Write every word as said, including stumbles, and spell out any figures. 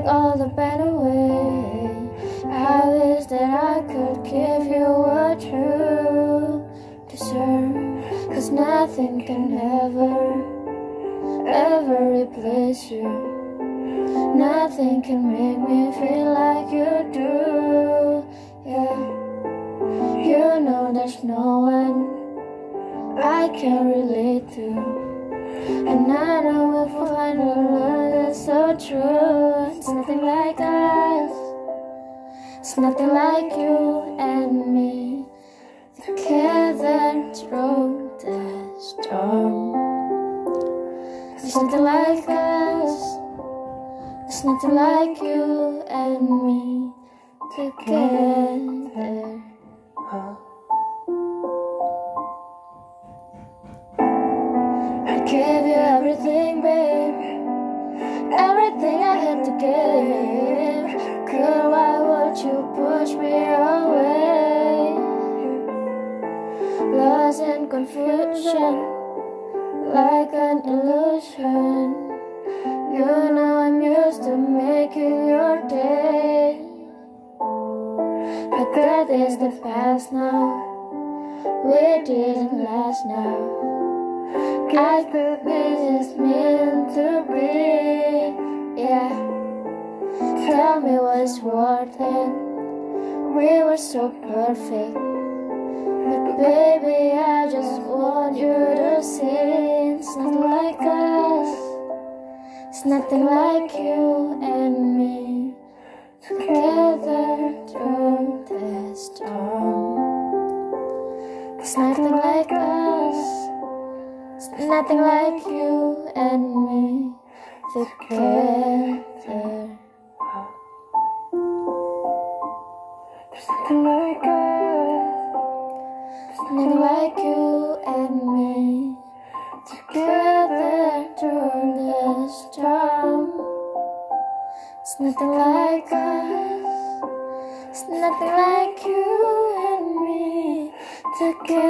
all the pain away. I wish that I could give you what you deserve, 'cause nothing can ever, ever replace you. Nothing can make me feel like you do. Yeah, you know there's no one I can relate to, and I know we'll find a love that's so true. It's nothing like us, it's nothing like you and me together through the storm. It's nothing like us, it's nothing like you and me together. I gave you everything, babe, everything I had to give. Girl, why would you push me away? Lost in confusion, like an illusion. You know I'm used to making your day, but that is the past now. We didn't last now. I thought this is meant to be. Yeah, tell me what's worth it. We were so perfect, but baby, I just want you to see it's not like us, it's nothing like you and me together through the storm. It's nothing like us, it's nothing like you and me together. There's nothing like us, there's nothing like you and me together through the storm. It's nothing like us, it's nothing like you and me together.